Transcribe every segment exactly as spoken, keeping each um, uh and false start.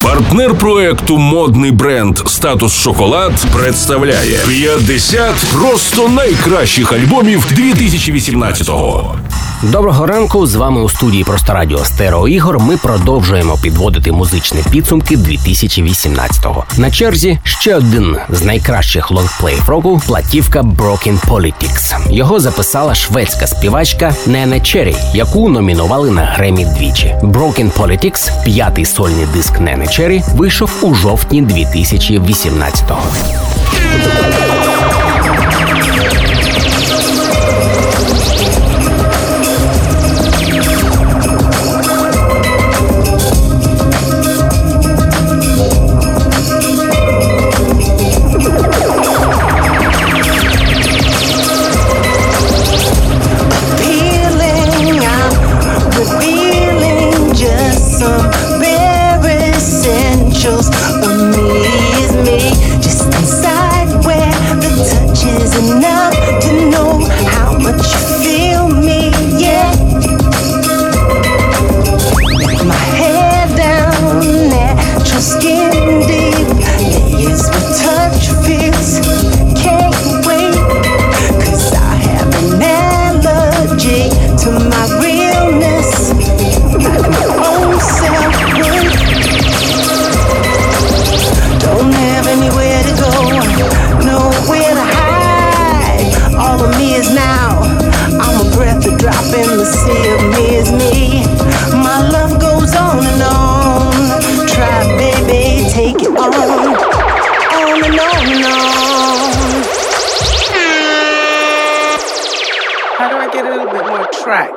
Партнер проекту модний бренд «Статус Шоколад» представляє п'ятдесят просто найкращих альбомів дві тисячі вісімнадцятого. Доброго ранку, з вами у студії «Просто радіо» Стерео Ігор. Ми продовжуємо підводити музичні підсумки дві тисячі вісімнадцятого. На черзі ще один з найкращих лонгплеїв року – платівка «Broken Politics». Його записала шведська співачка Нене Черрі, яку номінували на Гремі двічі. «Broken Politics», п'ятий сольний диск Нене Черрі, вийшов у жовтні дві тисячі вісімнадцятого. How do I get a little bit more track?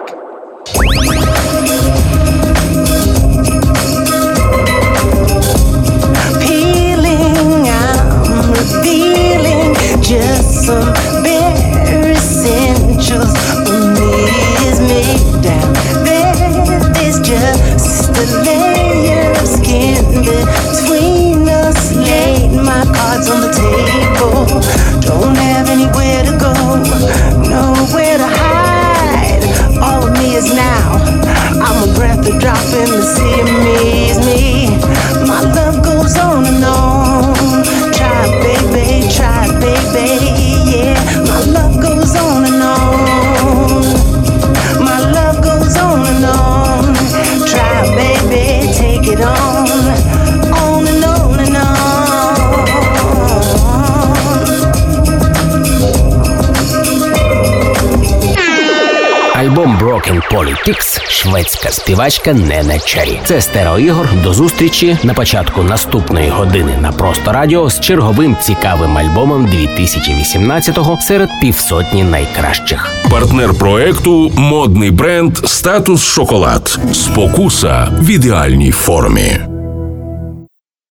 Peeling, I'm revealing just some bare essentials. Me is me down there. There's just a layer of skin between us. Laid my cards on the table. Don't have anywhere to go. Nowhere to hide. All of me is now. I'm a breath, a drop in the sea of me is me. My love goes on and on. Try, baby, try, baby, yeah. My love goes on and on. My love goes on and on. Try, baby, take it on. On and on and on. Альбом «Broken Politics», шведська співачка Нене Черрі. Це Стерео Ігор. До зустрічі на початку наступної години на Просто Радіо з черговим цікавим альбомом дві тисячі вісімнадцятого серед півсотні найкращих. Партнер проекту модний бренд «Статус Шоколад». Спокуса в ідеальній формі.